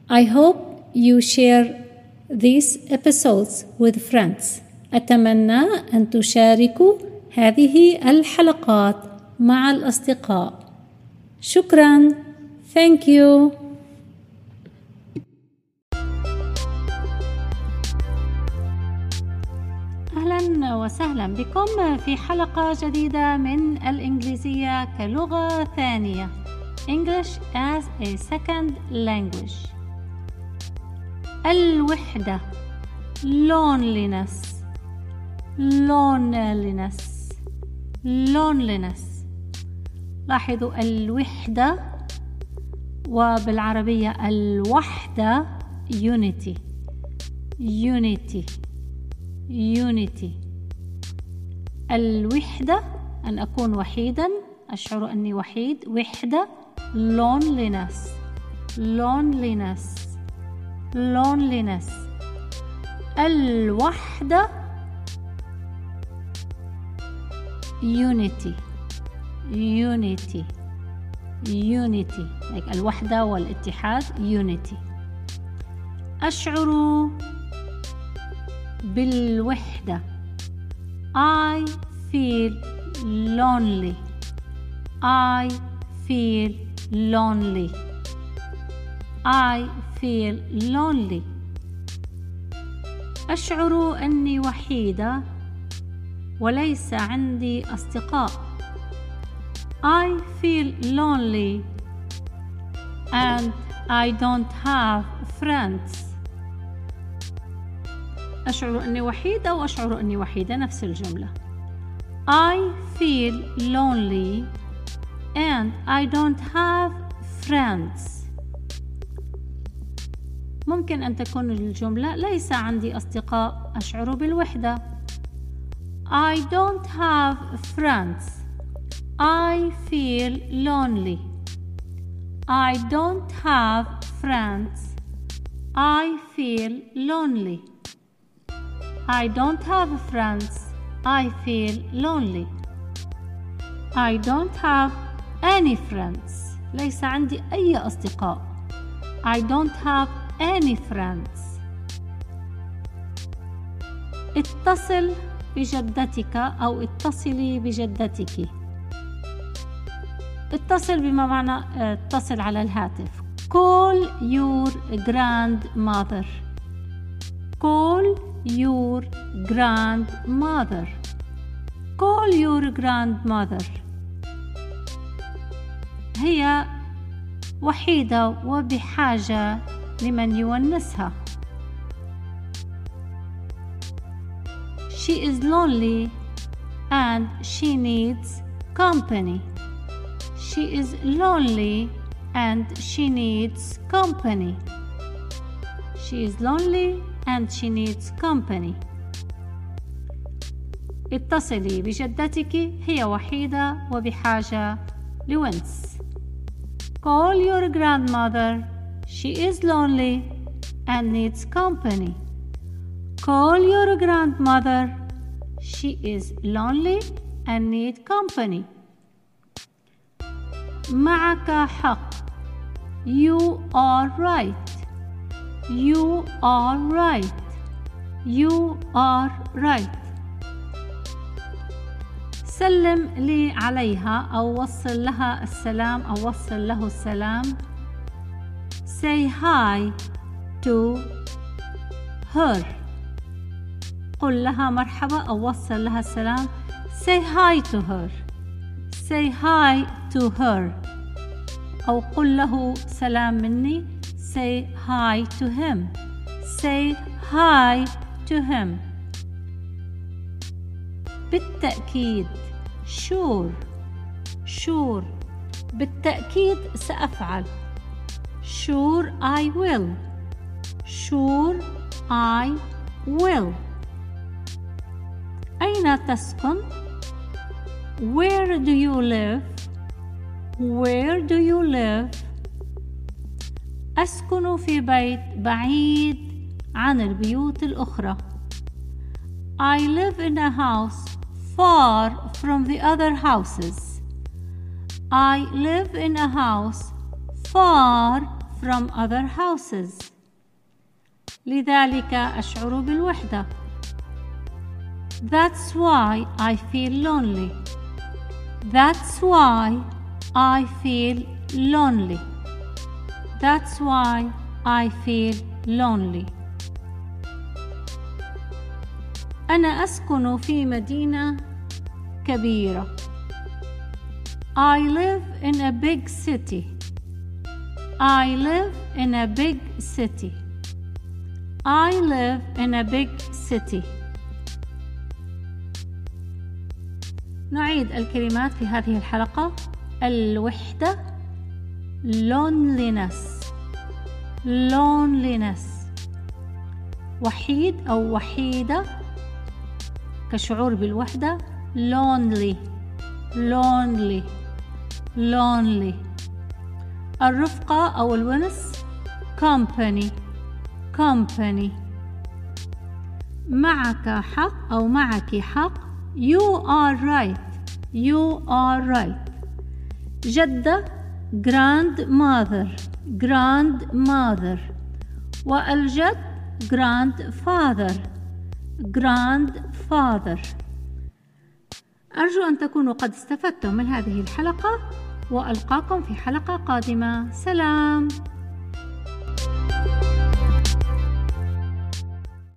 I hope you share these episodes with friends. أتمنى أن تشاركوا هذه الحلقات مع الأصدقاء. شكراً. Thank you. أهلاً وسهلاً بكم في حلقة جديدة من الإنجليزية كلغة ثانية. English as a second language. الوحدة loneliness. لاحظوا الوحدة وبالعربية الوحدة unity. الوحدة أن أكون وحيدا، أشعر أني وحيد. وحدة loneliness. الوحدة unity. like الوحدة والاتحاد unity. أشعر بالوحدة I feel lonely. أشعر أني وحيدة وليس عندي أصدقاء. I feel lonely and I don't have friends. أشعر أني وحيدة وأشعر أني وحيدة، نفس الجملة. I feel lonely and I don't have friends. ممكن أن تكون الجملة ليس عندي أصدقاء، أشعر بالوحدة. I don't have friends. I feel lonely. I don't have friends. I feel lonely. I don't have friends. I feel lonely. I don't have any friends. ليس عندي أي أصدقاء. I don't have any friends. اتصل بجدتك أو اتصلي بجدتك. اتصل بما معنى اتصل على الهاتف. Call your grandmother. Call your grandmother. هي وحيدة وبحاجة لمن يونسها. She is lonely and she needs company. She is lonely and she needs company. She is lonely and she needs company. اتصلي بجدتك، هي وحيدة وبحاجة لونس. Call your grandmother. She is lonely and needs company. Call your grandmother. She is lonely and needs company. معك حق. You are right. سلم لي عليها أو وصل لها السلام أو وصل له السلام. Say hi to her. قل لها مرحبا أو وصل لها السلام. Say hi to her. أو قل له سلام مني. Say hi to him. بالتأكيد. Sure. بالتأكيد سأفعل. Sure I will. أين تسكن؟ Where do you live? أسكن في بيت بعيد عن البيوت الأخرى. I live in a house far from the other houses. I live in a house far from other houses. لذلك أشعر بالوحدة. That's why I feel lonely. That's why I feel lonely. That's why I feel lonely. أنا أسكن في مدينة كبيرة. I live in a big city. I live in a big city. I live in a big city. نعيد الكلمات في هذه الحلقة. الوحدة loneliness. loneliness. وحيد أو وحيدة كشعور بالوحدة lonely. lonely. lonely. الرفقة أو الونس company. company. معك حق أو معك حق you are right. you are right. جدة grandmother. grandmother. والجد grandfather. grandfather. أرجو أن تكونوا قد استفدتم من هذه الحلقة، وألقاكم في حلقة قادمة. سلام.